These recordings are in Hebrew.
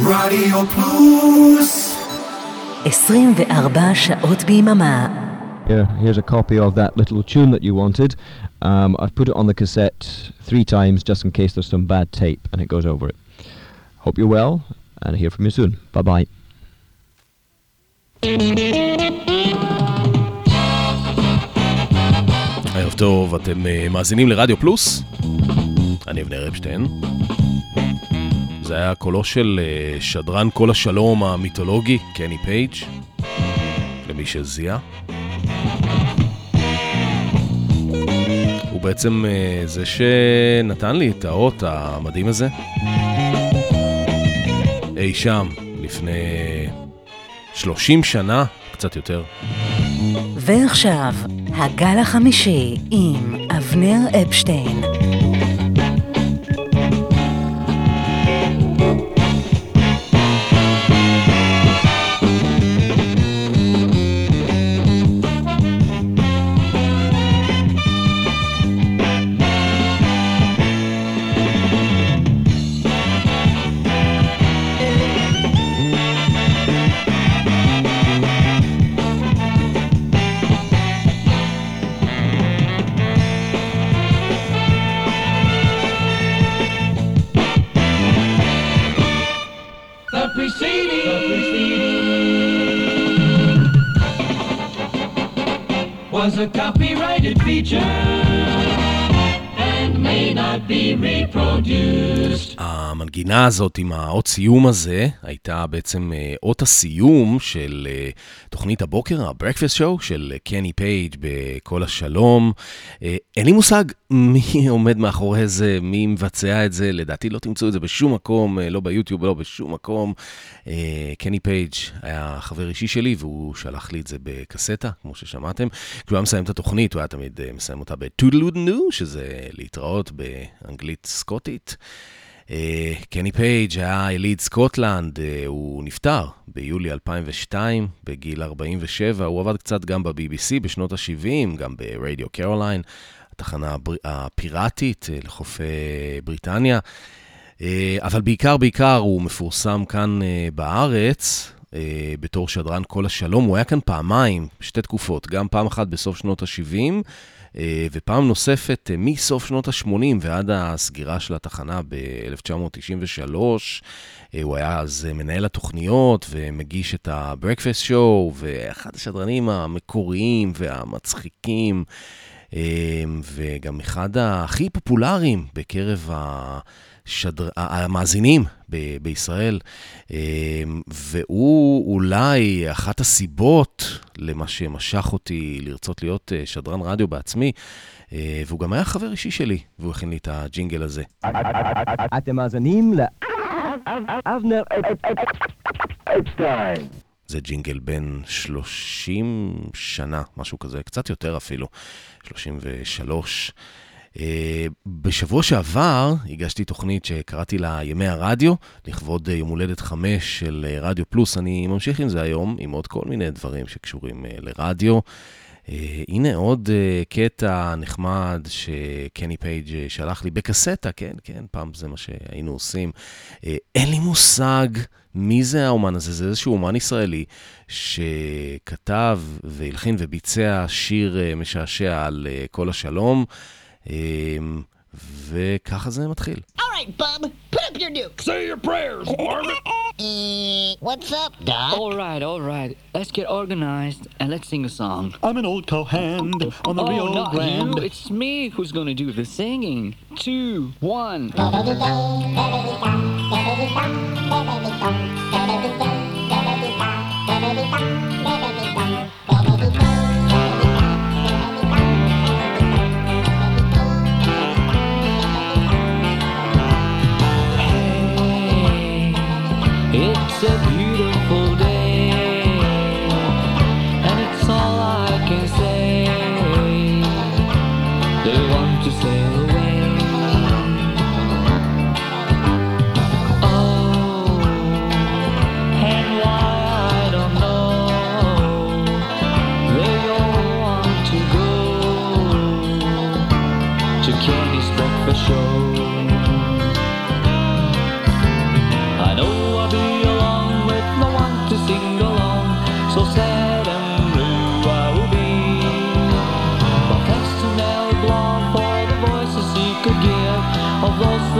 רדיו פלוס 24 שעות ביממה. Here's a copy of that little tune that you wanted. I've put it on the cassette 3 times just in case there's some bad tape and it goes over it. Hope you're well and I'll hear from you soon. Bye-bye. ערב טוב, אתם מאזינים לרדיו פלוס. אני אבנר אפשטיין. זה היה קולו של שדרן כל השלום המיתולוגי, קני פייג', למי שזיהה. הוא בעצם זה שנתן לי את האות המדהים הזה. אי שם, לפני 30 שנה, קצת יותר. ועכשיו, הגל החמישי עם אבנר אפשטיין. Was a copyrighted feature and may not be reproduced. המנגינה הזאת עם האות סיום הזה הייתה בעצם אות הסיום של תוכנית הבוקר, ה-Breakfast Show של קני פייג' בכל השלום. אין לי מושג מי עומד מאחורי זה, מי מבצע את זה, לדעתי לא תמצאו את זה בשום מקום, לא ביוטיוב, לא בשום מקום. קני פייג' היה חבר אישי שלי והוא שלח לי את זה בקסטה, כמו ששמעתם. כשהוא היה מסיים את התוכנית, הוא היה תמיד מסיים אותה בטודלודנו, שזה להתראות באנגלית סקוטית. קני פייג' היה יליד סקוטלנד, הוא נפטר ביולי 2002 בגיל 47, הוא עבד קצת גם ב-BBC בשנות ה-70, גם ברדיו קרוליין, התחנה הפיראטית לחופי בריטניה, אבל בעיקר הוא מפורסם כאן בארץ בתור שדרן כל השלום. הוא היה כאן פעמיים, שתי תקופות, גם פעם אחת בסוף שנות ה-70 ופעם נוספת מסוף שנות ה-80 ועד הסגירה של התחנה ב-1993. הוא היה אז מנהל התוכניות ומגיש את ה-Breakfast Show, ואחד השדרנים המקוריים והמצחיקים, וגם אחד הכי פופולריים בקרב המאזינים בישראל, והוא אולי אחת הסיבות למה שמשך אותי לרצות להיות שדרן רדיו בעצמי, והוא גם היה חבר אישי שלי, והוא הכין לי את הג'ינגל הזה. אתם מאזינים לאבנר אפשטיין. זה ג'ינגל בין 30 שנה, משהו כזה, קצת יותר אפילו, 33. בשבוע שעבר הגשתי תוכנית שקראתי לה ימי הרדיו, לכבוד יום הולדת 5 של רדיו פלוס. אני ממשיך עם זה היום, עם עוד כל מיני דברים שקשורים לרדיו. הנה עוד קטע נחמד שקני פייג' שלח לי בקסטה, כן, פעם זה מה שהיינו עושים. אין לי מושג מי זה האומן הזה, זה איזשהו אומן ישראלי שכתב והלחין וביצע שיר משעשע על כל השלום, וככה זה מתחיל. All right, Bub, put up your dukes. Say your prayers, Marvin. What's up, Doc? All right. Let's get organized and let's sing a song. I'm an old co-hand on the Rio not Grande. you. It's me who's going to do the singing. 2, 1. It's a beautiful day, and it's all I can say. They want to sail away. Oh,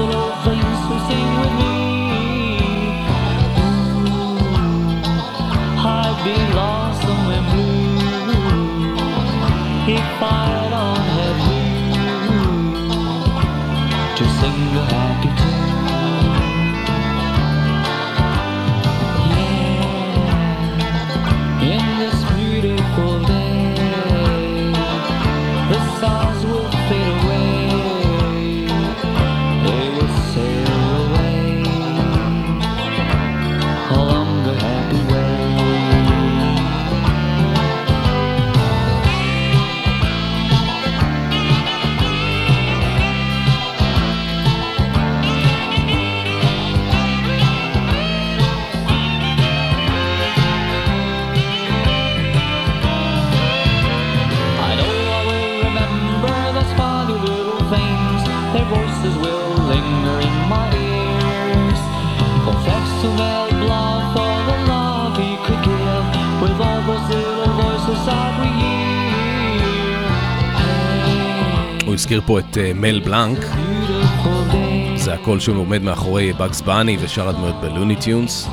little things who sing with me. I'd be lost somewhere blue if I had on her blue to sing a happy tune. Yeah, in this beautiful day, the stars will fade away. They will sail away along the happy way. Their voices will linger in my ears. For thanks to Mel Blanc for the love he could give, with all those little voices that we hear. הוא הזכיר פה את מל בלנק, זה הקול שהוא עומד מאחורי בגס בני ושאר הדמויות בלוני טיונס.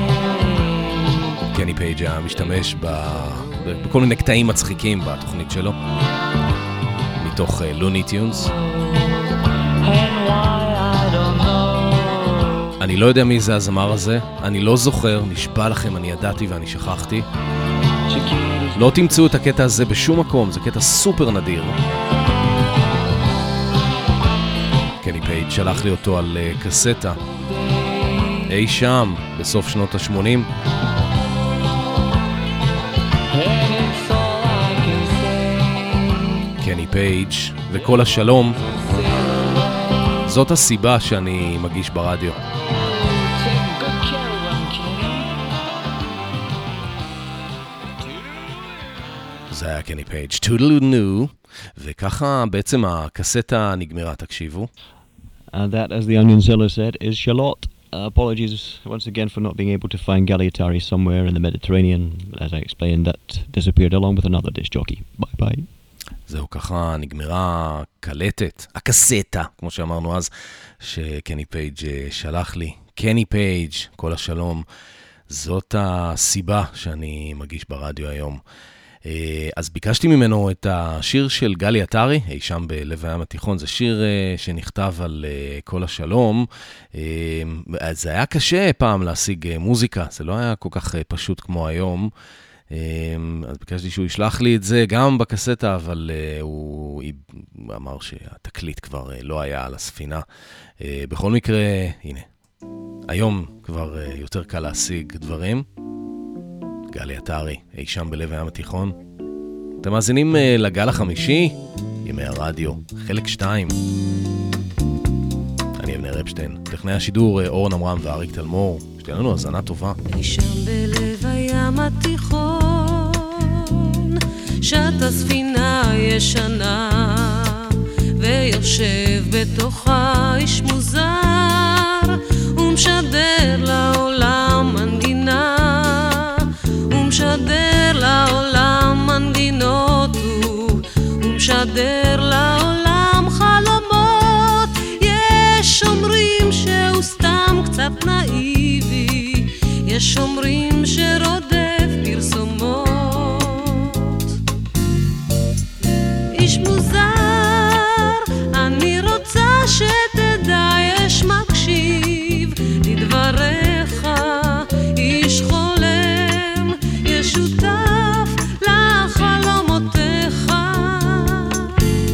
קני פייג' היה משתמש בכל מיני קטעים מצחיקים בתוכנית שלו, מתוך לוני טיונס. אני לא יודע מי זה הזמר הזה, אני לא זוכר, נשבע לכם, אני ידעתי ואני שכחתי. לא תמצאו את הקטע הזה בשום מקום, זה קטע סופר נדיר. קני פייג' שלח לי אותו על קסטה, אי שם, בסוף שנות ה-80. קני פייג' וכל השלום, זאת הסיבה שאני מגיש ברדיו. זה היה קני פייג' Toodaloo, וככה בעצם הקסטה נגמרה, תקשיבו. And that, as the Onion Seller said, is Charlotte. Apologies once again for not being able to find Galliatari somewhere in the Mediterranean. As I explained, that disappeared along with another disc jockey. Bye bye. זהו, ככה נגמרה קלטת, הקסטה, כמו שאמרנו אז, שקני פייג' שלח לי. קני פייג', כל השלום, זאת הסיבה שאני מגיש ברדיו היום. אז ביקשתי ממנו את השיר של גלי עטרי, אי שם בלב הים התיכון, זה שיר שנכתב על כל השלום. אז זה היה קשה פעם להשיג מוזיקה, זה לא היה כל כך פשוט כמו היום. אז ביקשתי שהוא ישלח לי את זה גם בקסטה, אבל הוא אמר שהתקליט כבר לא היה על הספינה. בכל מקרה, הנה, היום כבר יותר קל להשיג דברים. גלי עטרי, אי שם בלב הים התיכון. אתם מאזינים לגל החמישי, ימי הרדיו, חלק 2. אני אבנר אפשטיין, טכנאי השידור אורן עמרם ואריק תלמור. שתהיה לנו האזנה טובה. אי שם בלב הים התיכון, שט הספינה ישנה, ויושב בתוכה איש מוזר, ומשדר לעולם מנגינה, ומשדר לעולם מנגינות, ומשדר לעולם חלומות. יש אומרים שהוא סתם קצת נאיבי, יש אומרים שרודף פרסומות. איש מוזר, אני רוצה שתדע, יש מקשיב לדבריך, איש חולם, יש שותף לחלומותיך.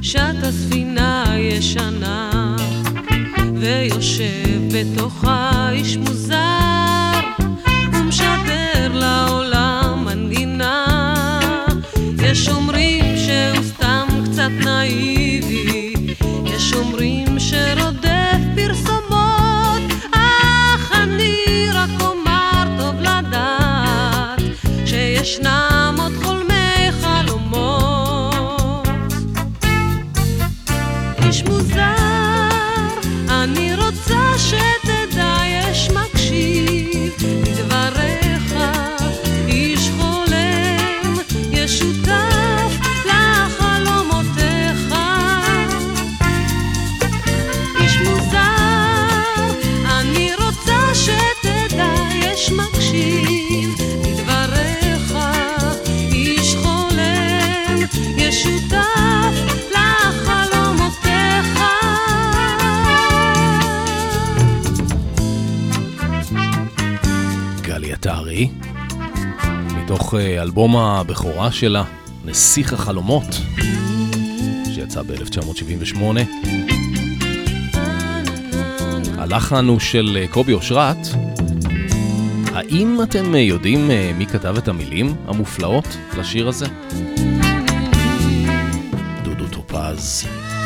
שטה ספינה ישנה ויושב בתוכה איש מוזר ומשדר לעולם מנגינה. יש אומרים שהוא סתם קצת נאיבי, יש אומרים שרודף פרסומות, אך אני רק אומר טוב לדעת שישנם עוד חולמי חלומות. איש מוזר, אני רוצה שתדע, יש מקשיב לדבריך, איש חולם, יש שותף לחלומותיך. איש מוזר, אני רוצה שתדע, יש מקשיב לדבריך, איש חולם, יש שותף לחלומותיך. גלי עטרי, מתוך אלבום הבכורה שלה, נסיך החלומות, שיצא ב-1978. הלחן הוא של קובי אושרת. האם אתם יודעים מי כתב את המילים המופלאות לשיר הזה? דודו טופז.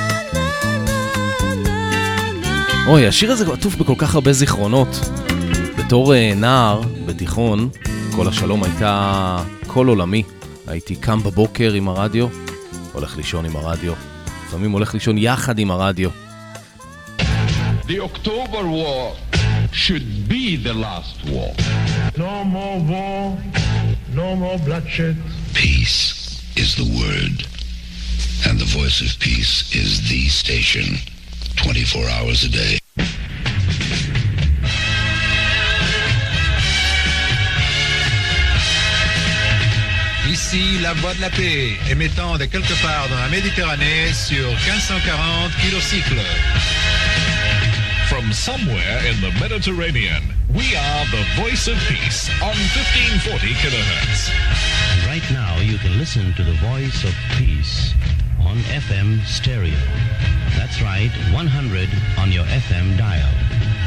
אוי, השיר הזה עטוף בכל כך הרבה זיכרונות. בתור נער בתיכון, כל השלום הייתה כל עולמי. הייתי קם בבוקר עם הרדיו, הולך לישון עם הרדיו, לפעמים הולך לישון יחד עם הרדיו. The October War should be the last war. No more war, no more bloodshed. Peace is the word, and the voice of peace is the station, 24 hours a day. Ici, la voix de la paix, émettant de quelque part dans la Méditerranée sur 1540 kilocycles. From somewhere in the Mediterranean, we are the voice of peace on 1540 kilohertz. And right now you can listen to the voice of peace on FM stereo. That's right, 100 on your FM dial.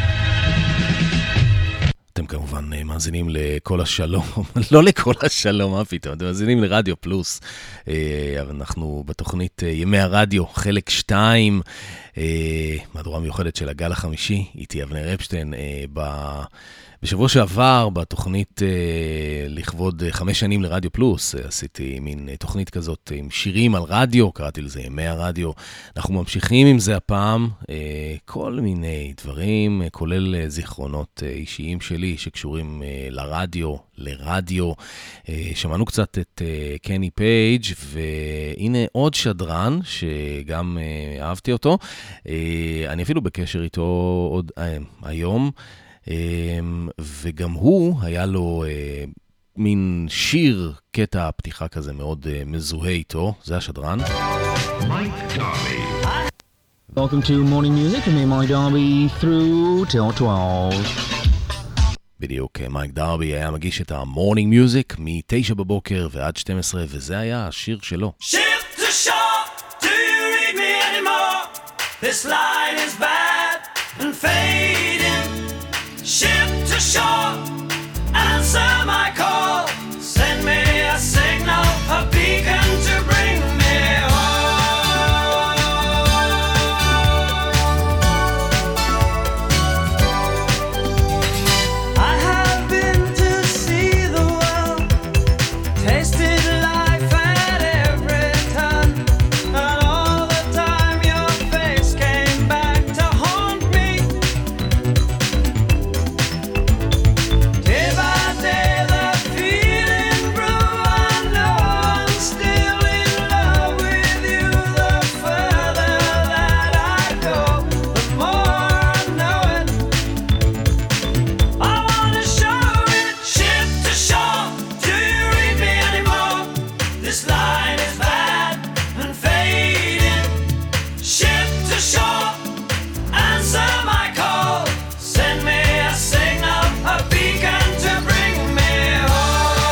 אתם כמובן מאזינים לכל השלום, לא לכל השלום, מה פתאום, אתם מאזינים לרדיו פלוס, אבל אנחנו בתוכנית ימי הרדיו, חלק 2, מהדורה מיוחדת של הגל החמישי, איתי אבנר אפשטיין, בשבוע שעבר בתוכנית לכבוד 5 שנים לרדיו פלוס, עשיתי מין תוכנית כזאת עם שירים על רדיו, קראתי לזה ימי הרדיו. אנחנו ממשיכים עם זה הפעם, כל מיני דברים, כולל זיכרונות אישיים שלי שקשורים לרדיו. שמענו קצת את קני פייג', והנה עוד שדרן שגם אהבתי אותו. אני אפילו בקשר איתו עוד היום. וגם הוא היה לו מין שיר, קטע פתיחה כזה מאוד מזוהה איתו, זה השדרן. Welcome to Morning Music with me, Mike Darby, through till 12. בדיוק, מייק דרבי היה מגיש את המורנינג מיוזיק מ-9 בבוקר ועד 12, וזה היה השיר שלו. Ship to shore, do you read me anymore? This line is bad and fading. Ship to shore, answer my call. Send me a signal, a beacon to bring me home. I have been to see the world, tasted life at every turn, and all the time your face came back to haunt me. Day by day the feeling grew, I know I'm still in love with you. The further that I go, the more I know it. I wanna show it. Ship to shore, do you read me anymore? This line is bad and fading. Ship to shore, answer my call. Send me a signal, a beacon to bring me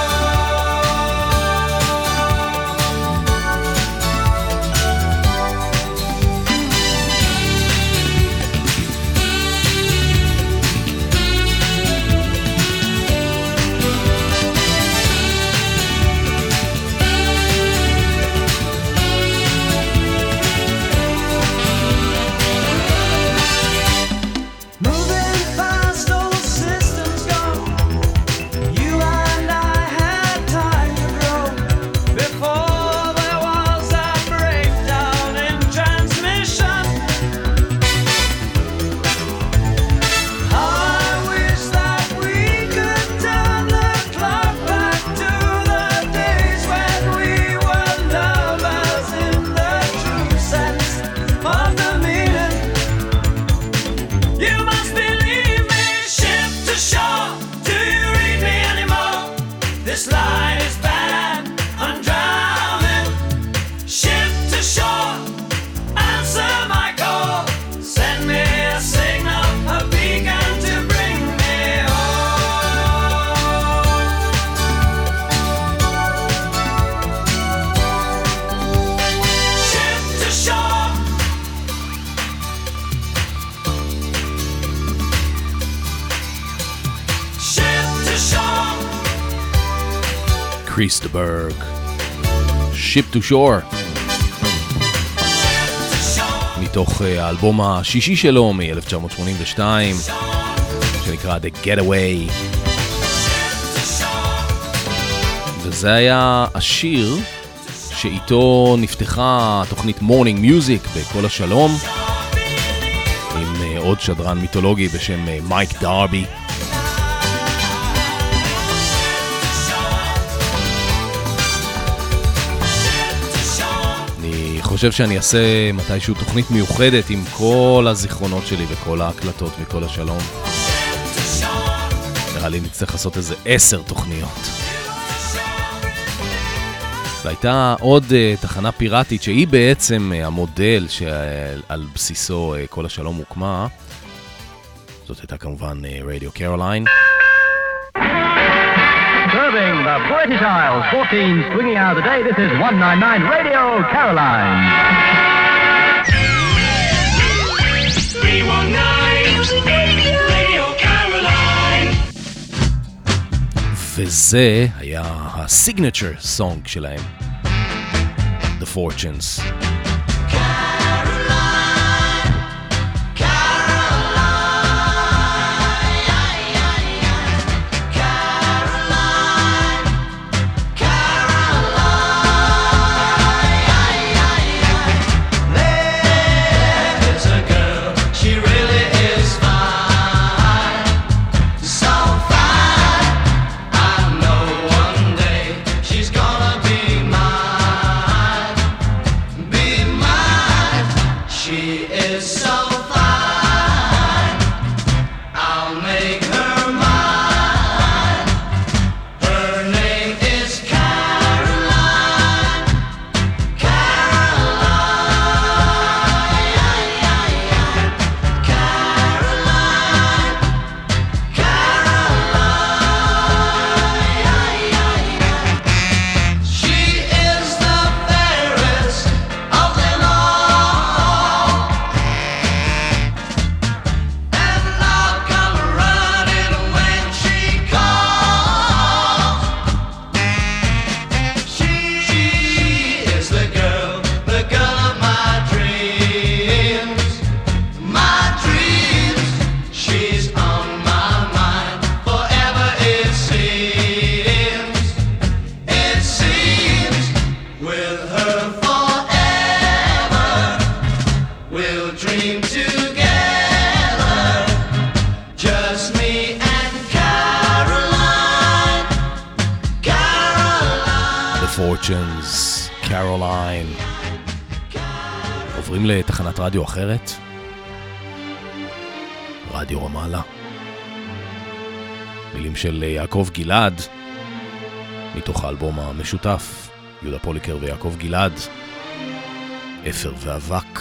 home. Christberg, Ship to Shore, מתוך האלבום השישי שלו מ-1982, שנקרא The Getaway. וזה היה השיר שאיתו נפתחה תוכנית Morning Music בכל השלום, עם עוד שדרן מיתולוגי בשם מייק דרבי. אני חושב שאני אעשה מתישהו תוכנית מיוחדת עם כל הזיכרונות שלי וכל ההקלטות מכל השלום. נראה לי נצטרך לעשות איזה 10 תוכניות. והייתה עוד תחנה פיראטית שהיא בעצם המודל שעל בסיסו כל השלום הוקמה. זאת הייתה כמובן רדיו קרוליין. Serving the British Isles, 14 swinging hours a day, this is 199 Radio Caroline. 319 Radio Caroline. וזה היה הסיגנצ'ר סונג שלהם, The Fortunes. Fortunes, Caroline. עוברים לתחנת רדיו אחרת, רדיו רמאללה. מילים של יעקב גלעד, מתוך האלבום המשותף, יהודה פוליקר ויעקב גלעד, אפר ואבק.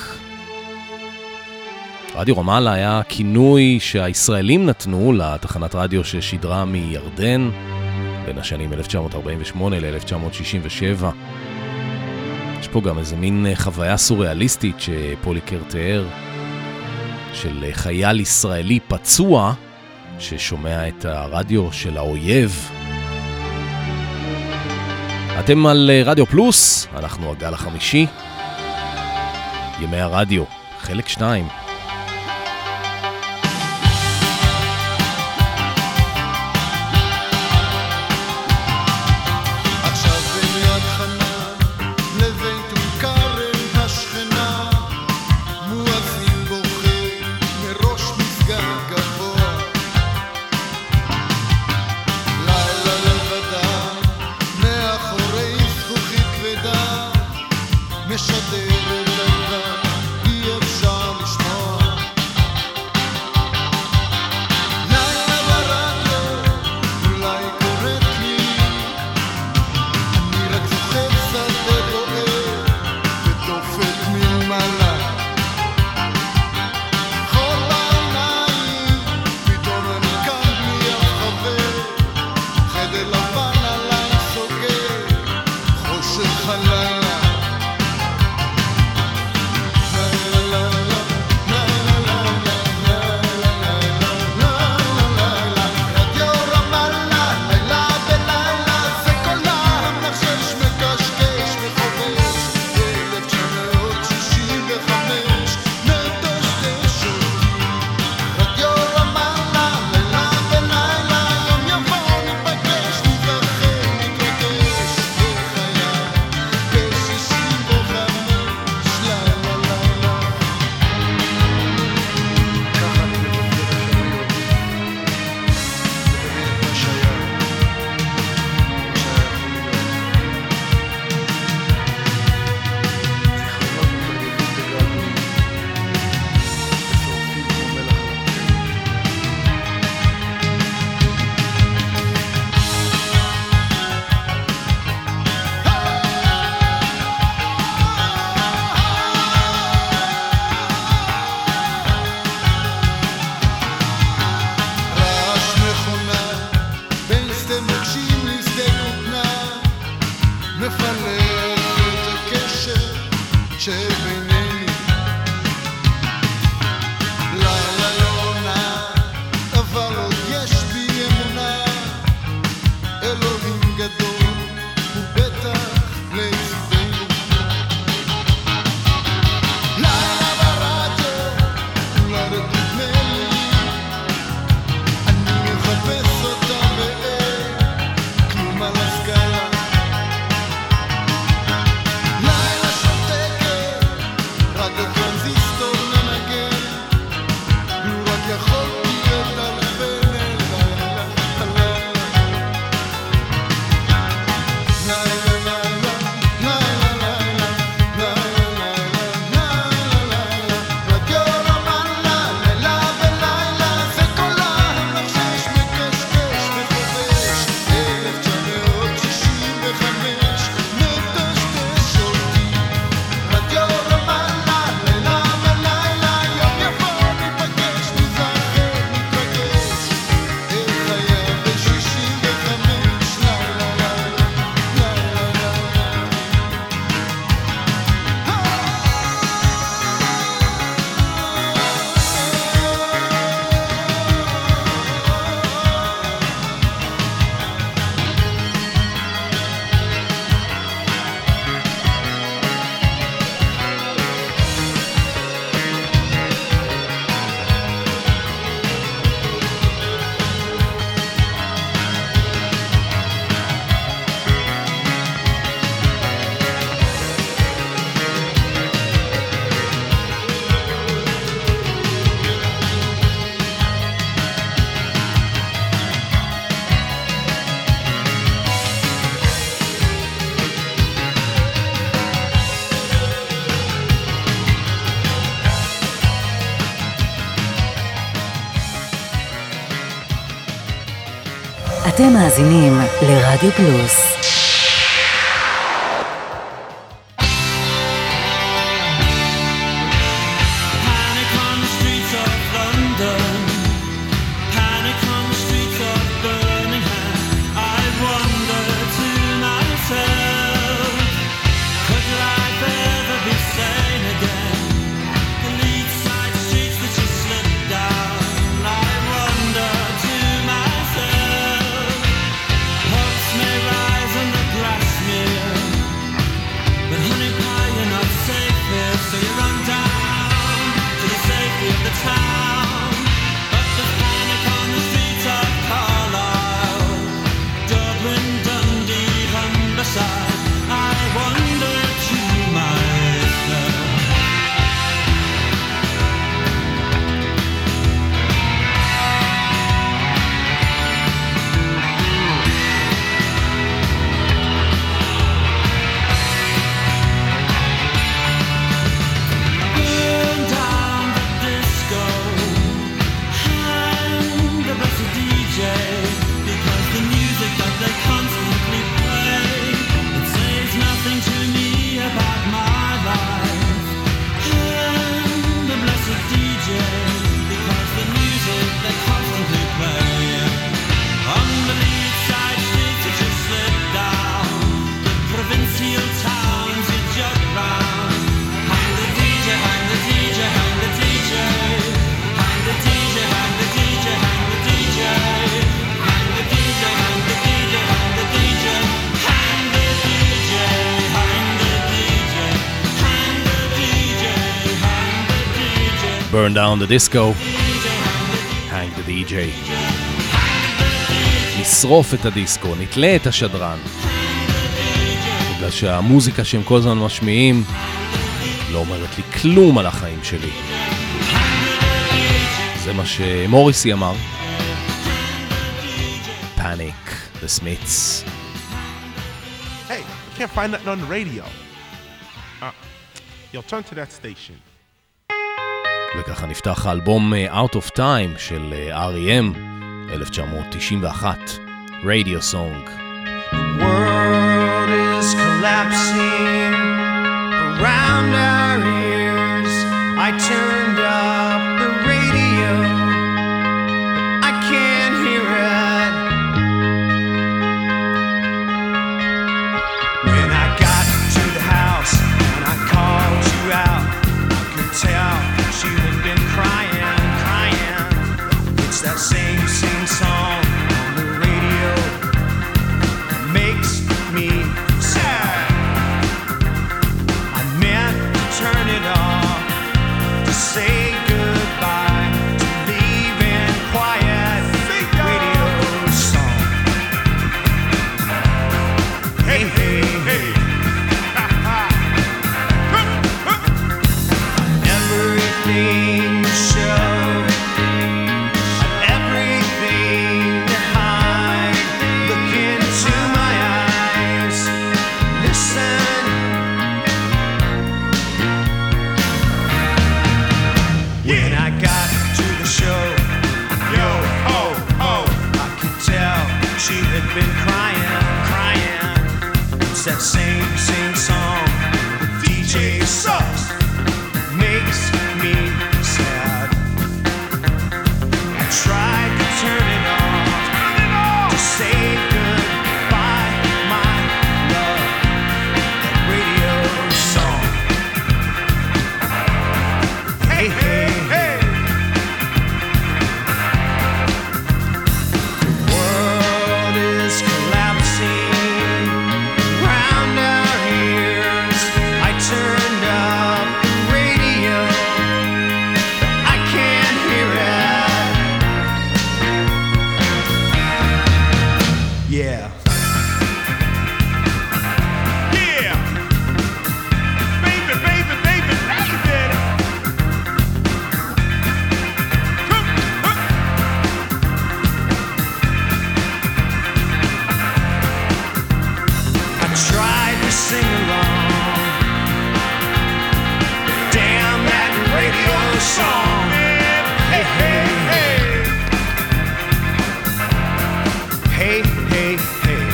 רדיו רמאללה היה כינוי שהישראלים נתנו לתחנת רדיו ששידרה מירדן, בין השנים 1948 ל-1967. יש פה גם איזה מין חוויה סוריאליסטית שפוליקר תיאר, של חייל ישראלי פצוע ששומע את הרדיו של האויב. אתם על רדיו פלוס, אנחנו הגל החמישי, ימי הרדיו, חלק 2. משדרת עליו, אי אפשר לשמוע רק הטרנזיסטור מנגן, לו רק יכולתי לטלפן אליי. אתם מאזינים לרדיו פלוס. Burn down the disco, hang the DJ. נשרוף את הדיסקו, נתלה את השדרן. בגלל שהמוזיקה שהם כל הזמן משמיעים לא אומרת לי כלום על החיים שלי. זה מה שמוריסי אמר. Panic, the Smiths. Hey, I can't find nothing on the radio. Yo, turn to that station. וככה נפתח האלבום Out of Time של R.E.M. 1991, Radio Song. The world is collapsing around our ears. I turned up the radio, but I can't hear it. When I got to the house and I called you out, I could tell you had been crying, crying. It's that same song on the radio, makes me sad. I meant to turn it off, to say goodbye, to leave in quiet. Radio song. Hey, hey, hey. everything to show, everything to hide. Look into my eyes, listen. When I got to the show, yo, oh, oh, I could tell she had been crying. It's that same song. The DJ sucks, makes me sad. I tried to turn it off, to say goodbye, my love. That radio song. Hey, hey, hey. The world is collapsing round our ears. I turned up the radio, I can't hear it. Yeah. Yeah. Baby, baby, baby, baby. I tried to sing along. Damn that radio song. Hey, hey, hey. Hey, hey, hey.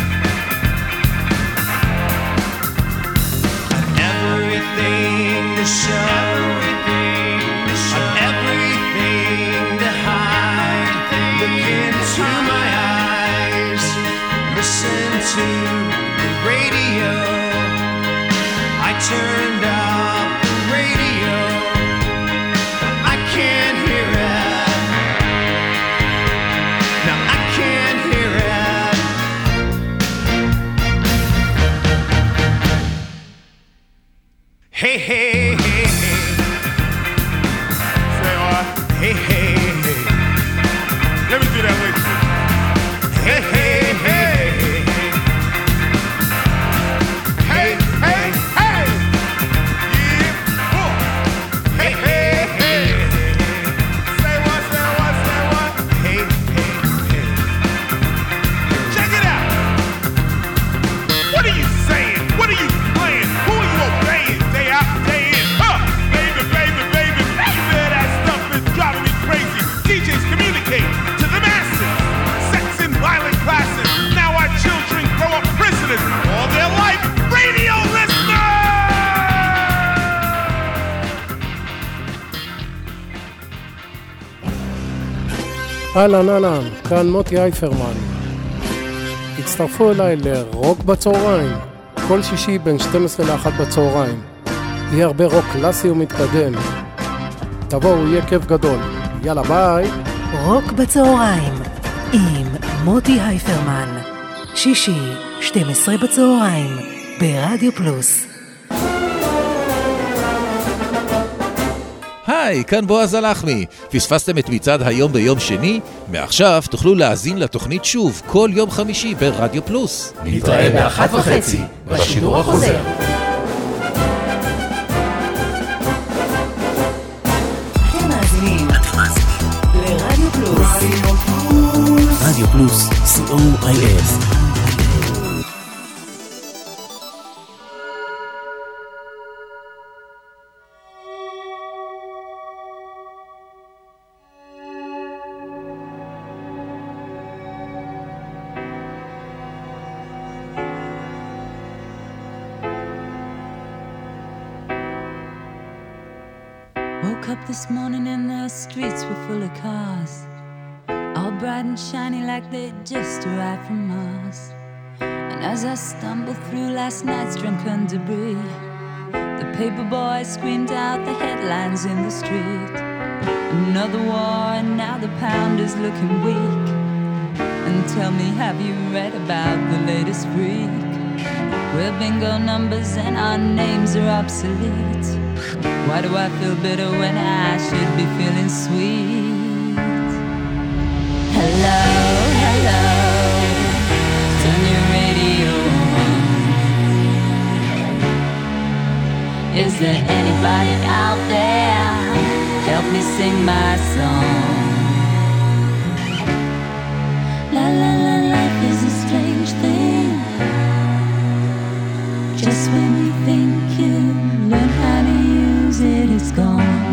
On everything to show, on everything to hide. Look into my eyes, listen to the radio. I turned up the radio, I can't hear it. Now I can't hear it. Hey, hey, hey, hey. Say what? Hey, hey, hey. Let me do that with you. Hey, hey, hey. Hey, hey, hey. Yeah. Oh. Hey, hey, hey. Say what, say what, say what? Hey, hey, hey. Check it out. What are you saying? What are you playing? Who are you obeying day out, day in? Huh? Baby, baby, baby, baby, that stuff is driving me crazy. DJs communicate to the masses. Sex and violent classes. Now our children grow up prisoners all their life. Radio listeners! אהלן אהלן, כאן מוטי אייפרמן. הצטרפו אליי לרוק בצהריים, כל שישי בין 12 ל-1 בצהריים. יהיה הרבה רוק קלאסי ומתקדם. תבואו, יהיה כיף גדול. יאללה ביי. רוק בצהריים עם מוטי הייפרמן, שישי 12 בצהריים ברדיו פלוס. היי, כאן בועז הלחמי. פספסתם את מצעד היום ביום שני? מעכשיו תוכלו להאזין לתוכנית שוב כל יום חמישי ברדיו פלוס. נתראה ב-1:30 בשידור החוזר. אתם מאזינים לרדיו פלוס. רדיו פלוס, COIF. Woke up this morning and the streets were full of cars, all bright and shiny like they'd just arrived from Mars. And as I stumbled through last night's drunken debris, the paper boy screamed out the headlines in the street. Another war and now the pound is looking weak. And tell me, have you read about the latest freak? We're bingo numbers and our names are obsolete. Why do I feel bitter when I should be feeling sweet? Hello, hello, turn your radio on. Is there anybody out there? me sing my song. La la la, life is a strange thing. Just when you think you learn how to use it, it's gone.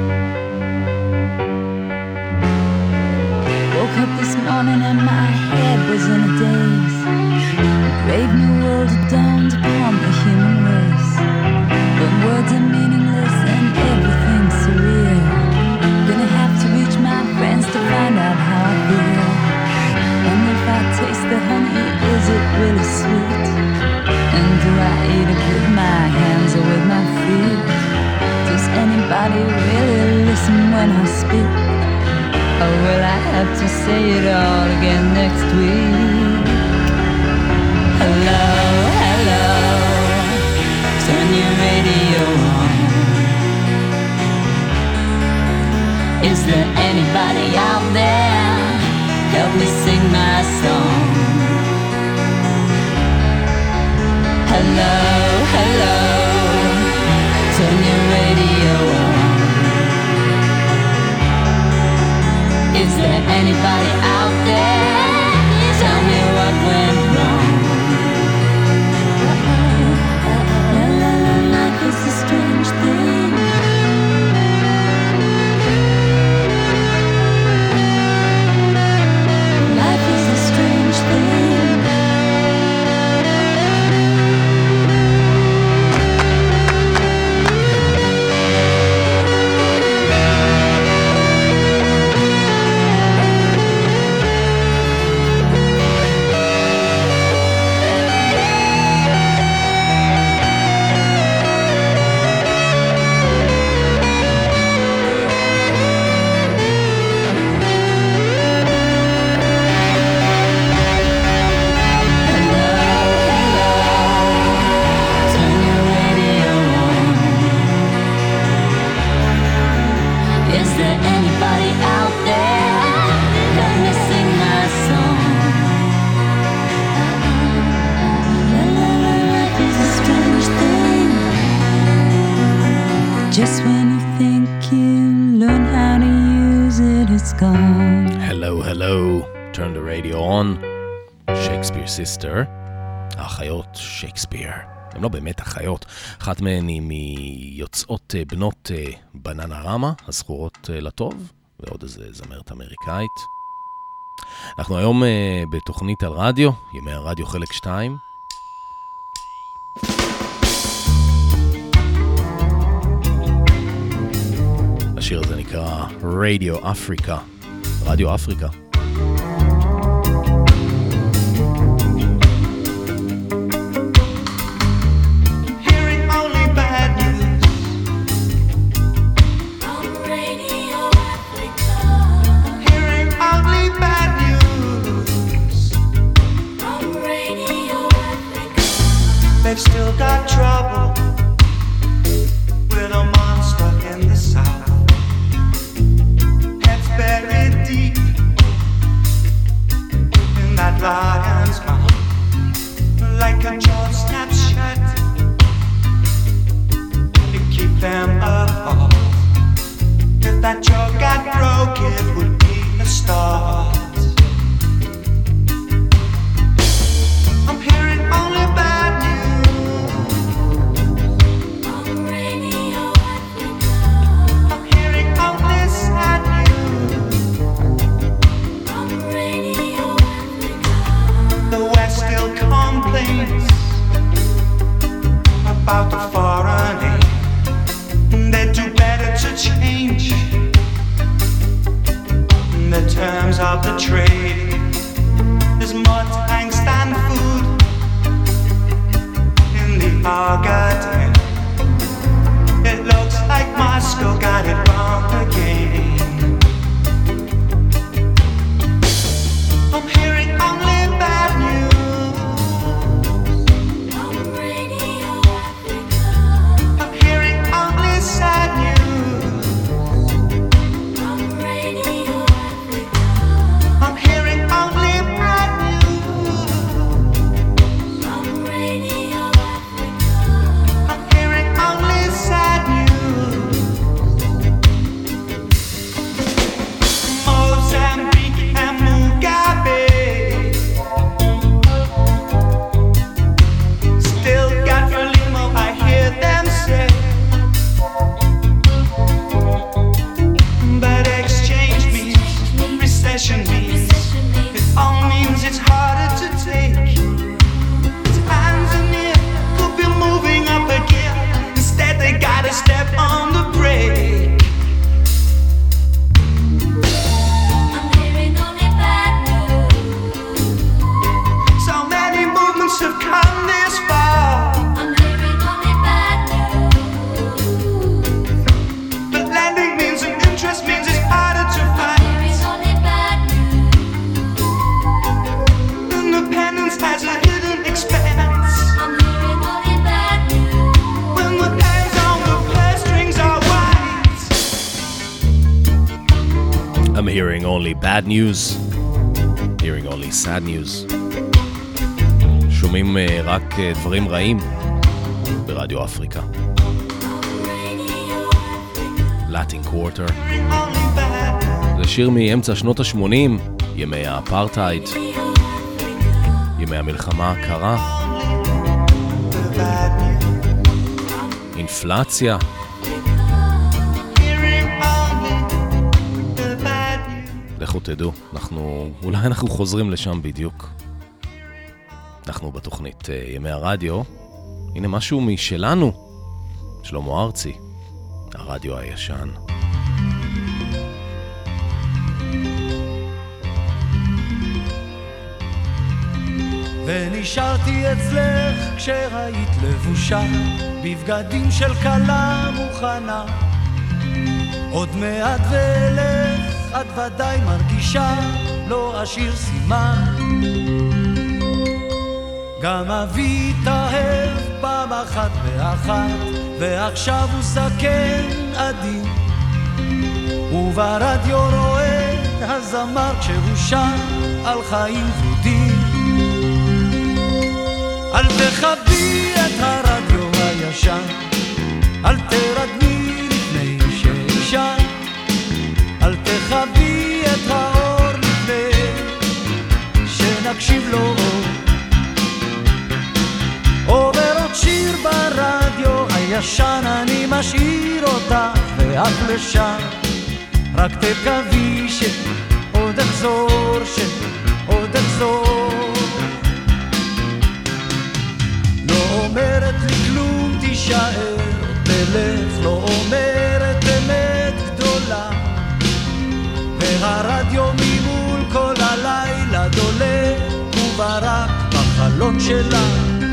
Woke up this morning and my head was in a daze. A brave new world had dawned upon the human race. When words are meaningless and everything's surreal, gonna have to reach my friends to find out how I feel. And if I taste the honey, is it really sweet? And do I eat it with my hands or with my feet? Does anybody really listen when I speak? Or will I have to say it all again next week? Hello, hello, turn your radio on. Is there anybody out there? Help me sing my song. Hello, hello, turn your radio on. Is there anybody out there? Tell me what went wrong. La la la, life is a strange thing. Life is a strange thing. Just when you think you learn how to use it, it's gone. Hello, hello, turn the radio on. Shakespeare sister. האחיות שייקספיר. הן לא באמת אחיות. אחת מהן היא מיוצאות בנות בננה רמה, הזכורות לטוב, ועוד איזה זמרת אמריקאית. אנחנו היום בתוכנית על רדיו, ימי הרדיו חלק 2. השיר הזה נקרא רדיו אפריקה. רדיו אפריקה. They've still got trouble with a monster in the south. Heads buried deep in that lion's mouth, like a jaw snaps shut to keep them apart. If that jaw got broke, it would be a start. I'm hearing only bad news. About the foreign aid, they do better to change the terms of I'm hearing only bad news, hearing only sad news. שומעים רק דברים רעים ברדיו אפריקה. Latin Quarter. זה שיר מאמצע שנות ה-80, ימי האפרטהייד, ימי המלחמה הקרה, אינפלציה. לכו תדעו, אולי אנחנו חוזרים לשם בדיוק. אנחנו בתוכנית ימי הרדיו. הנה משהו משלנו, שלמה ארצי, הרדיו הישן. ונשארתי אצלך כשראית לבושה בבגדים של קלה מוכנה. עוד מעט ואלך, את ודאי מרגישה, לא אשאיר סימן. גם אבי התאהב פעם אחת באחת, ועכשיו הוא זקן עדין, וברדיו רואה הזמר כשהוא שר על חיים ורודים. אל תכבי את הרדיו הישן, אל תרדמי לפני שישן, אל תכבי את האור לפני שנקשיב לו. עובר עוד שיר ברדיו הישן, אני משאיר אותך ואף לשם, רק תקווי שעוד אחזור, שעוד אחזור. לא אומרת לי כלום, תישאר, תלך, לא אומרת אמת גדולה, והרדיו ממול כל הלילה דולה, וברק בחלון שלה,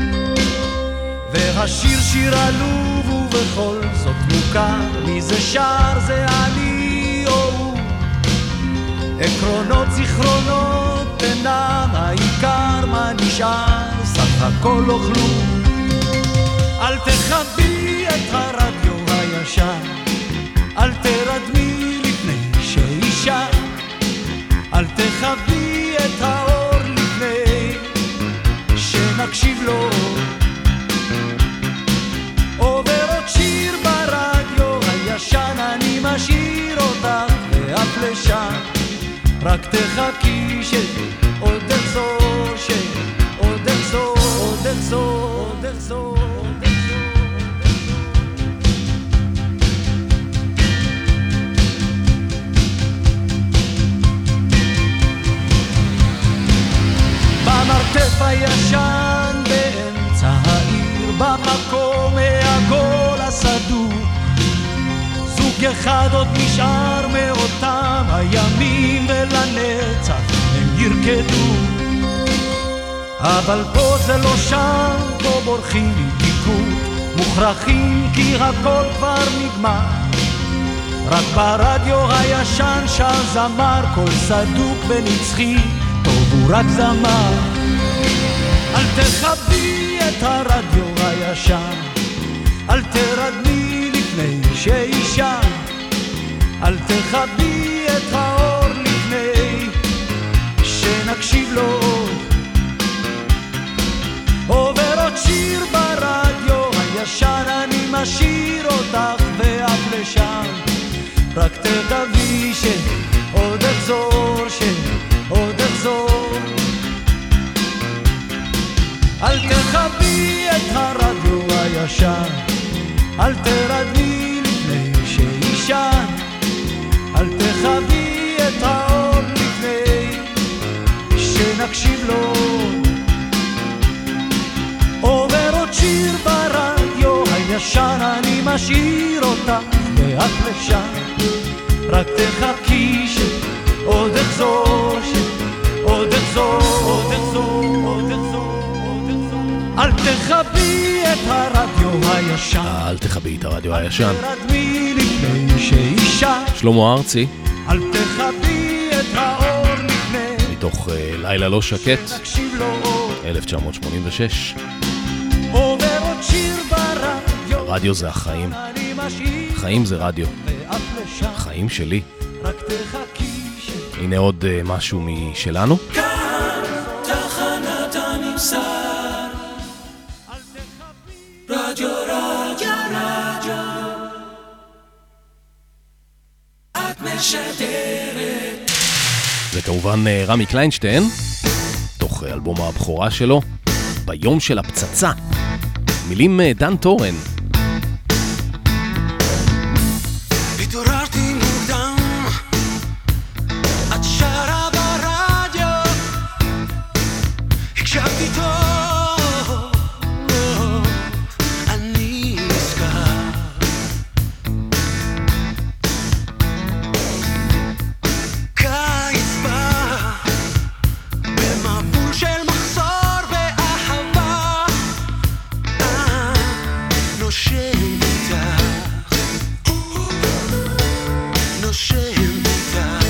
והשיר שיר עלוב ובכל זאת מוכר, מי זה שר, זה אני או הוא. עקרונות זיכרונות אינם העיקר, מה נשאר, סך הכל לא כלום. אל תכבי את הרדיו הישן, אל תרדמי לפני שאישה, אל תכבי את האור לפני שנקשיב לו. עובר עוד שיר ברדיו הישן, אני משאיר אותך ואף לשם, רק תחכי שעוד אחזור, שעוד אחזור, עוד אחזור, עוד אחזור. במרתף הישן באמצע העיר, במקום העגול הסדור, זוג אחד עוד נשאר מאותם הימים, ולנצח הם ירקדו. אבל פה זה לא שם, פה בורחים מתיקות, מוכרחים כי הכל כבר נגמר, רק ברדיו הישן שר זמר, קול סדוק ונצחי, טוב הוא רק זמר. אל תכבי את הרדיו הישן, אל תרדמי לפני שישן, אל תכבי את האור לפני שנקשיב לו. עובר עוד שיר ברדיו הישן, אני משאיר אותך ואף לשם, רק תקווי שעוד אחזור, שעוד אחזור. אל תכבי את הרדיו הישן, אל תרדמי לפני שישן, אל תכבי את האור לפני שנקשיב לו. עובר עוד שיר ברדיו הישן, אני משאיר אותך ואף לשם, רק תחכי שעוד אחזור, שעוד אחזור, עוד אחזור, עוד אחזור. אל תכבי את הרדיו הישן, אל תכבי את הרדיו הישן. תרדמי לפני שאישה, שלמה ארצי, אל תכבי את האור לפני מתוך לילה לא שקט, 1986. עובר עוד שיר ברדיו, רדיו זה החיים, חיים זה רדיו, חיים שלי. רק תחכי הנה עוד משהו משלנו. כאן תחנת הממסד, רדיו רדיו רדיו, את משדרת. זה כמובן רמי קליינשטיין, תוך אלבום הבכורה שלו, ביום של הפצצה. מילים דן טורן. התעוררתי מוקדם, את שרה ברדיו, הקשבתי טוב, אני נזכר. קיץ בא במבול של מחסור ואהבה, נושם איתך, נושם איתך.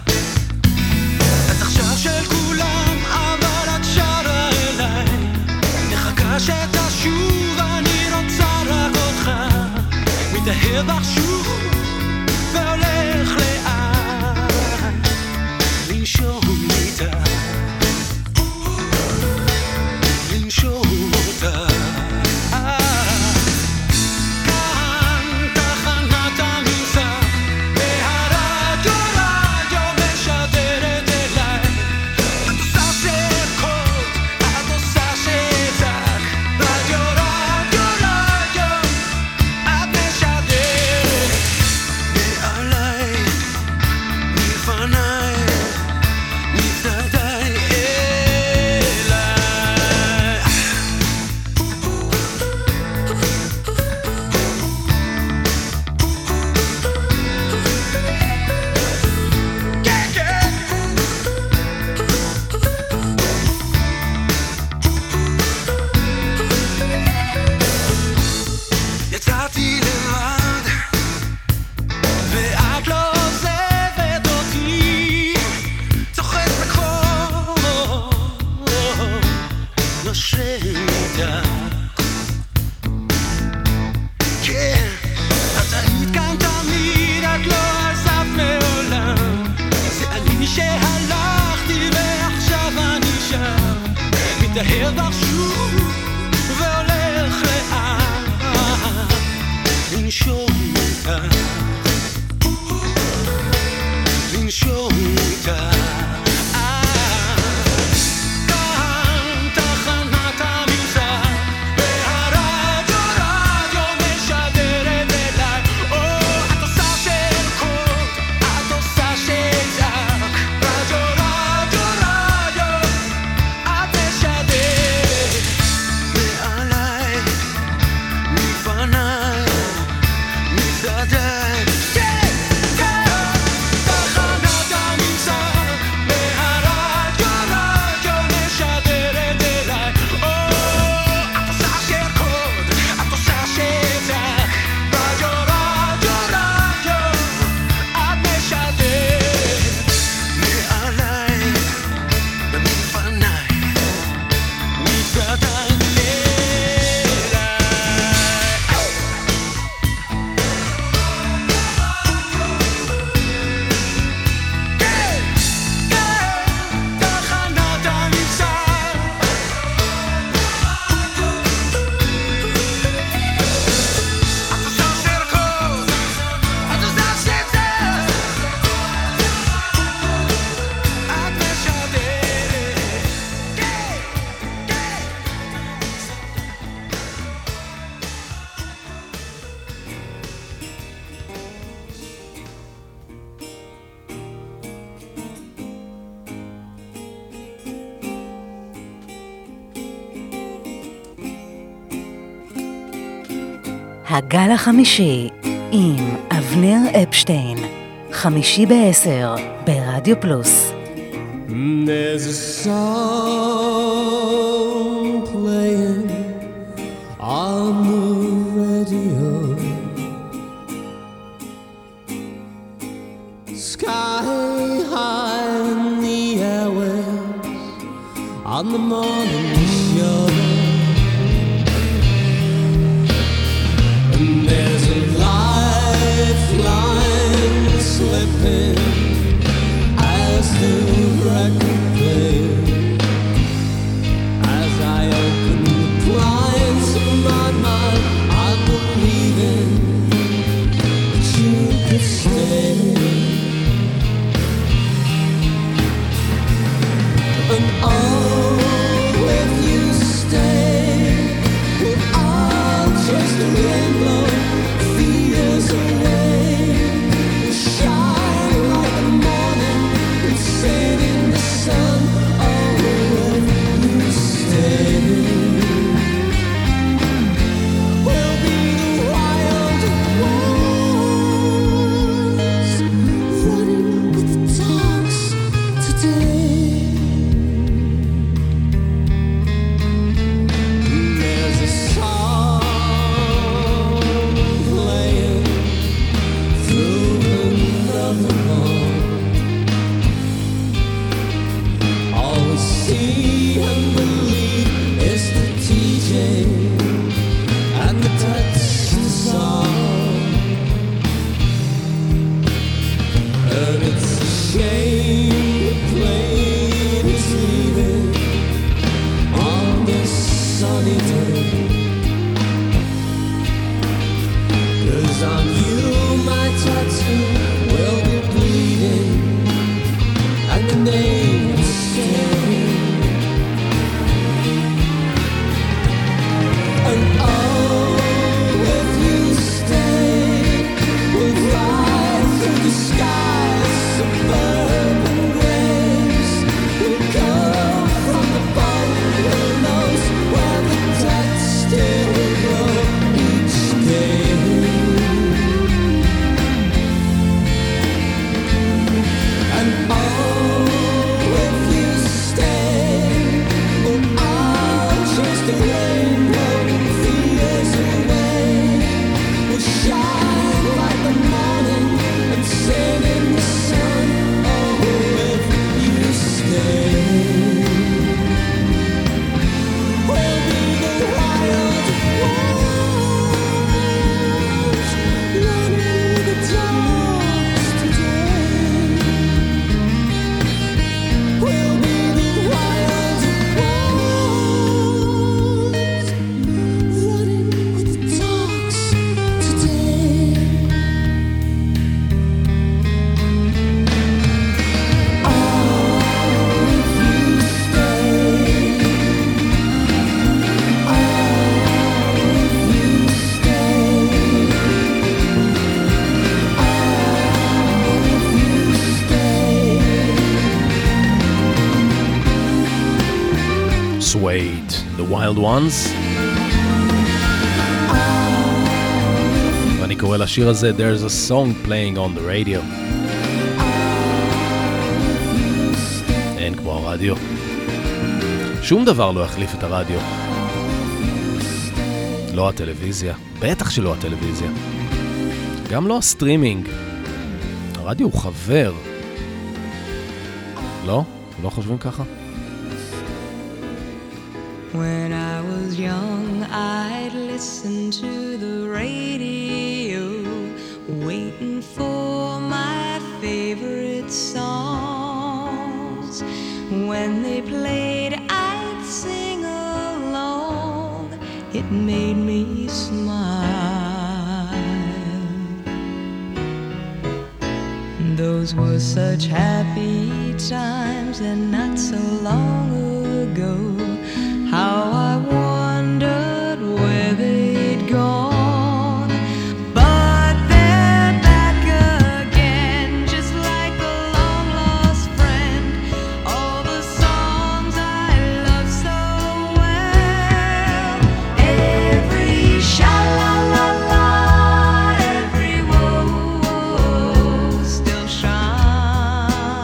את עכשיו של כולם, אבל את שרה אליי, מחכה שתשוב, אני רוצה רק אותך, מתאהב בך שוב והולך לאט, לנשום איתך, לנשום אותך. יצאתי לבד ואת לא עוזבת אותי, צוחק בקור, נושם איתך. כן, את היית כאן תמיד, את לא עזבת מעולם, זה אני שהלכתי ועכשיו אני שם, מתאהב בך שוב והולך לאט, לנשום איתך, לנשום איתך. כאן תחנת הממסד, והרדיו רדיו משדרת אליי. את עושה של קוד, את עושה של זק, רדיו רדיו רדיו, את משדרת מעליי, מפניי, מצדדיי. תחנת הממסד, והרדיו רדיו משדרת אליי. את עושה של קוד, את עושה של זק, רדיו רדיו רדיו, את משדרת מעליי ומפניי, מצדדיי. תחנת הממסד, את עושה של קוד, את עושה של זק, את משדרת. הגל החמישי עם אבנר אפשטיין, 5:50 ברדיו פלוס. There's a song playing on the radio, sky high in the airwaves, on the morning show. And there's a lifeline slipping as as the record played, as I open the blinds of my mind, I'm believing that you could stay. And oh, if you stay, well, I'll chase the rainbow 3 years away. We'll shine like the morning and sing in the sun. Oh, if you stay, we'll be the wild ones, running with the dogs today. There's a song playing through another wall. All we see and believe is the DJ and the touch the song. And it's a shame the plane is leaving on this sunny day. 'Cause on you my tattoo will be bleeding, and the name will stay. And oh, if you stay, we'll fly through the skies, suburban graves. We'll come from the bottom who knows where the dead still grow each day. And oh, if you stay, well, I'll chase the rainbow 3 years away. We'll shine like the morning and sing in the sun. Oh, if you stay, we'll be the wild ones, running with the dogs today. We'll be the wild ones, running with the dogs today. Oh, if you stay. Oh, if you stay. Oh, if you stay. Suede, The Wild Ones. ואני קורא לשיר הזה There's a song playing on the radio. אין כמו הרדיו. שום דבר לא יחליף את הרדיו. לא הטלוויזיה, בטח שלא הטלוויזיה. גם לא הסטרימינג. הרדיו הוא חבר. לא? לא חושבים ככה? When I was young, I'd listen to the radio, waiting for my favorite songs. When they played, I'd sing along. It made me smile. Those were such happy times, and not so long ago. How I wondered where they'd gone. But they're back again, just like a long-lost friend. All the songs I love so well. Every sha-la-la-la, every woe still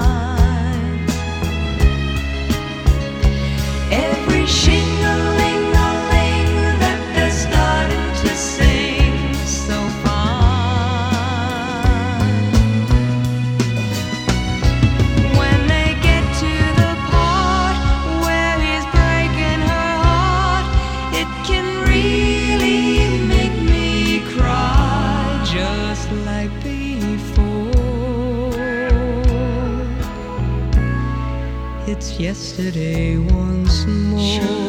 shines. Every shingling It's yesterday once more.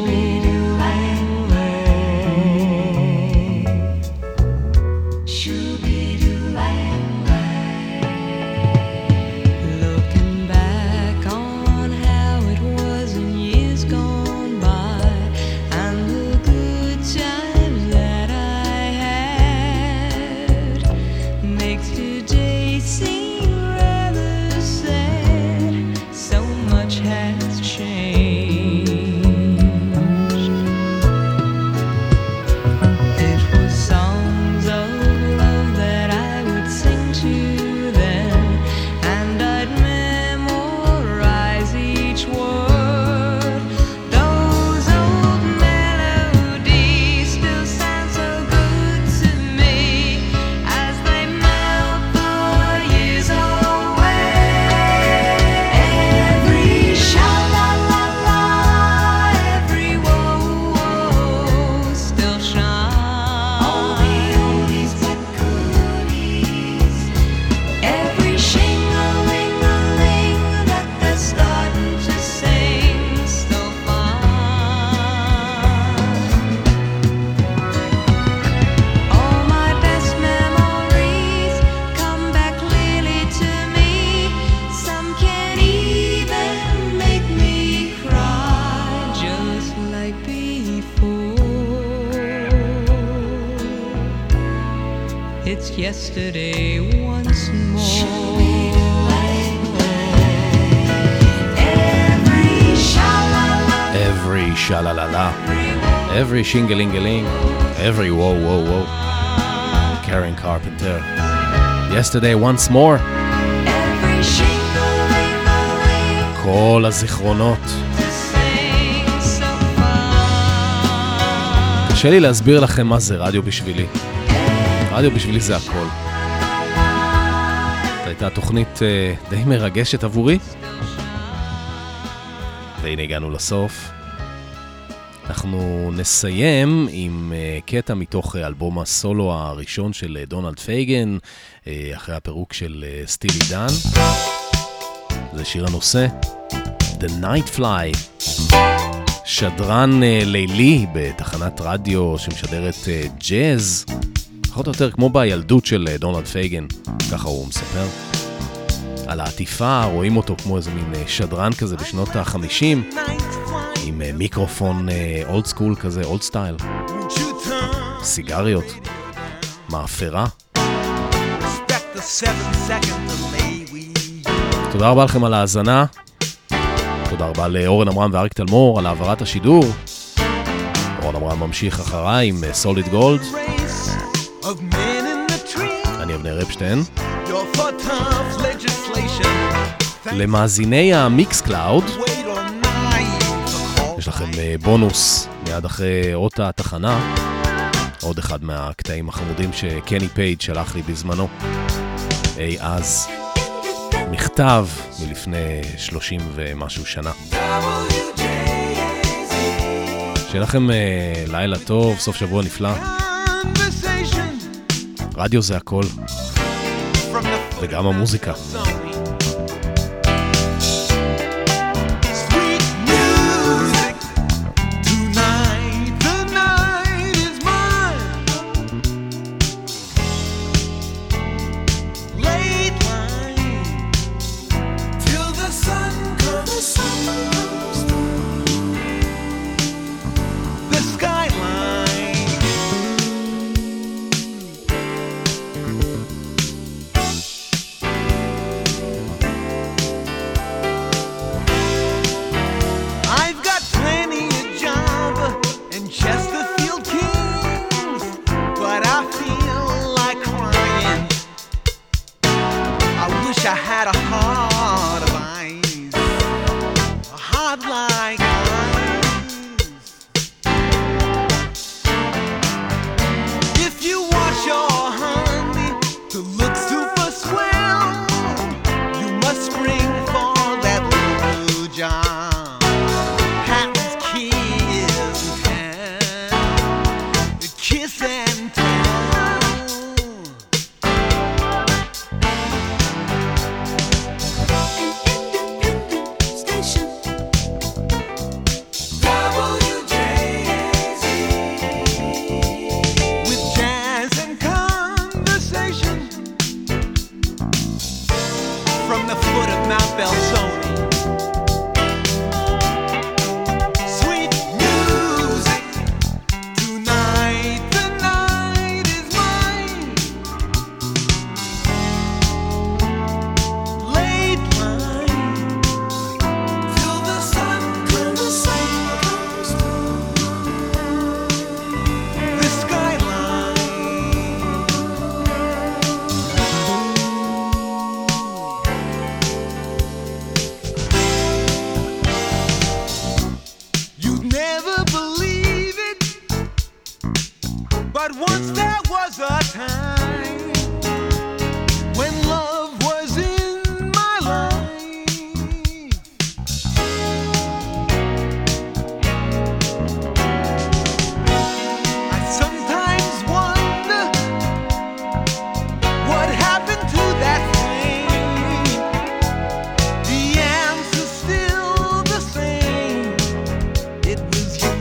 Looking back on how it was in years gone by, and the good times that I had, makes today seem rather sad. So much has changed. It was songs of love that I would sing to them, and I'd memorize each word. Those old melodies still sound so good to me as they melt the years away. Every sha-la-la-la, every whoa-whoa still shines. All the oldies but goodies, every shing-a-ling-a-ling that they're starting to sing still fine. All my best memories come back clearly to me. Some can even make me cry just like before. It's yesterday once more. Every sha-la-la, Every sha-la-la-la, every shing-a-ling-a-ling, every whoa-whoa-whoa. Karen Carpenter. Yesterday once more. every shing-a-ling-a-ling כל הזיכרונות. to sing so fine. קשה לי להסביר לכם מה זה רדיו בשבילי. רדיו בשבילי זה הכל. זו הייתה תוכנית די מרגשת עבורי. והנה הגענו לסוף. אנחנו נסיים עם קטע מתוך אלבום הסולו הראשון של דונלד פייגן, אחרי הפירוק של סטילי דן. זה שיר הנושא, The Night Fly. שדרן לילי בתחנת רדיו שמשדרת ג'אז, פחות או יותר כמו בילדות של דונלד פייגן, ככה הוא מספר. על העטיפה רואים אותו כמו איזה מין שדרן כזה בשנות ה-50, עם מיקרופון אולד סקול כזה, אולד סטייל, סיגריות, מאפרה. תודה רבה לכם על ההאזנה. תודה רבה לאורן אמרם ואריק תלמור על העברת השידור. אורן אמרם ממשיך אחריי עם סוליד גולד. אני אבנר אפשטיין. למאזיני המיקס קלאוד, יש לכם בונוס מיד אחרי אות התחנה, עוד אחד מהקטעים החמודים שקני פייג' שלח לי בזמנו. אז מכתב מלפני 30 ומשהו שנה. שיהיה לכם לילה טוב, סוף שבוע נפלא. רדיו זה הכל, וגם המוזיקה. from the foot of Mount Belzoni. Sweet music, tonight the night is mine. Late line, till the sun comes the skyline. You'd never believe it, but once there was a time when love was in my life. I sometimes wonder what happened to that flame. The answer's still the same. It was you.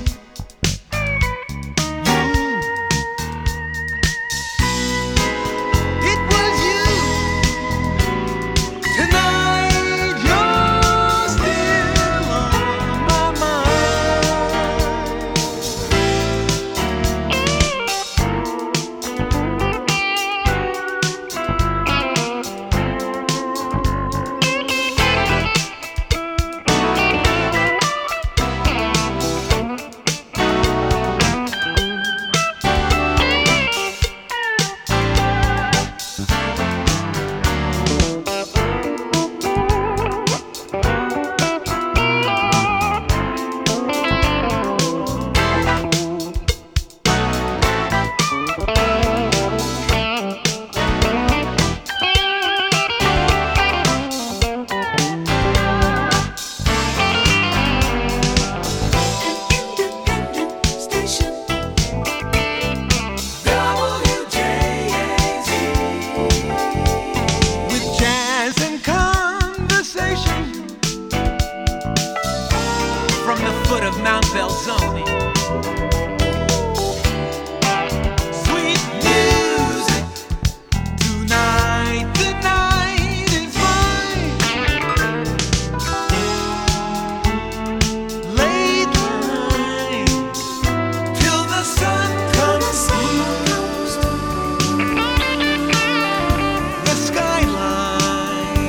It was you. Tonight you're still on my mind. Station WJAZ with jazz and conversation from the foot of Mount Belzoni. Sweet music, tonight the night is mine. Late line, till the sun comes through the skyline.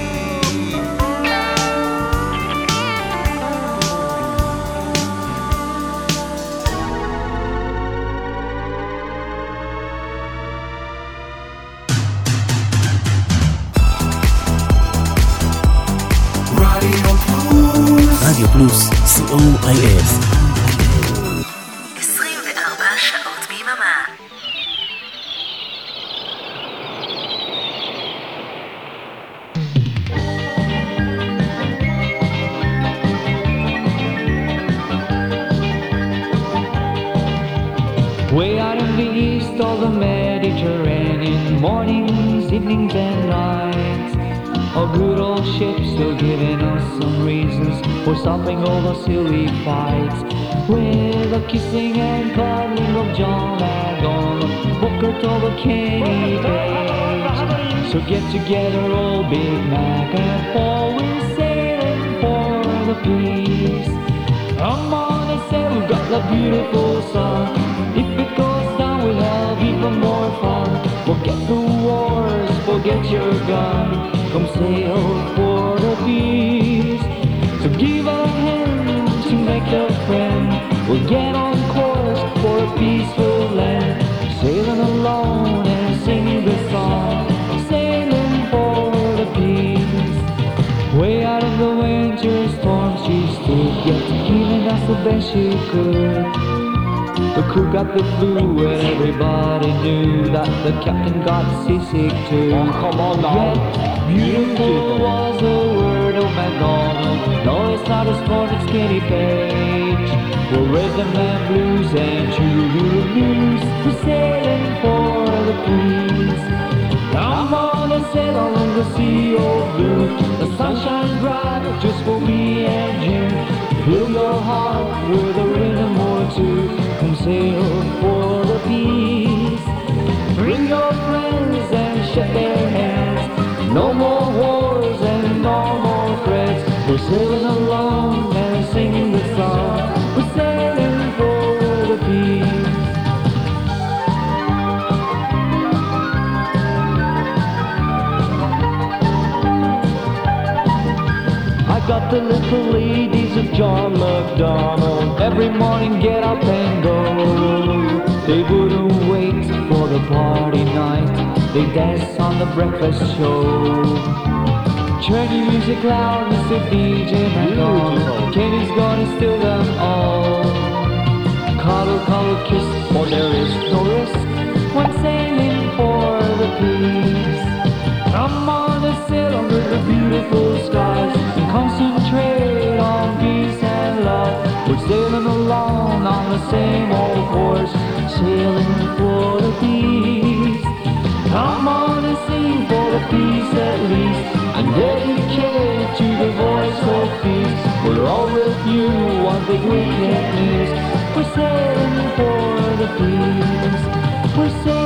רדיו פלוס, COIS. 24 שעות ביממה. Way out in the east of the Mediterranean, mornings, evenings and nights. A good old ship still giving us some reasons for stopping all the silly fights. With the kissing and cuddling of John Agon, Booker told Kenny Page. So get together, old Big Mac, and always sailing for the peace. Come on, they say we've got the beautiful sun. If it goes down, we'll have even more fun. Forget the wars, forget your gun. Come sail for the peace. So give a hand to make a friend. We'll get on course for a peaceful land. Sailing alone and singing the song. Sailing for the peace. Way out in the winter storm she stood, yet giving us the best she could. The crew got the flu and everybody knew that the captain got seasick too. Oh, come on now. Yet beautiful was the word of MacDonald. No, it's not as far as Kenny Page. We're rhythm and blues and true blues. We're sailing for the peace. Come on and sail along the sea of blue. The sun shines bright just for me and you. Fill your heart with a rhythm or two. Come sail for the peace. Bring your friends and shake their hands. No more wars and We're sailing along and singing the song. We're sailing for the peace. I got the little ladies of John MacDonald. Every morning get up and go. They wouldn't wait for the party night. They dance on the breakfast show. Turn your music loud, Mr. DJ McCall. Kenny's gonna steal them all. Cuddle, cuddle, kiss, for there is no risk when sailing for the peace. Come on and sail under the beautiful skies and concentrate on peace and love. We're sailing along on the same old course, sailing for the peace. Come on and sing for the peace at least, and dedicate to the voice of peace. We're all with you on the weekend news. We're sailing for the peace. We're sailing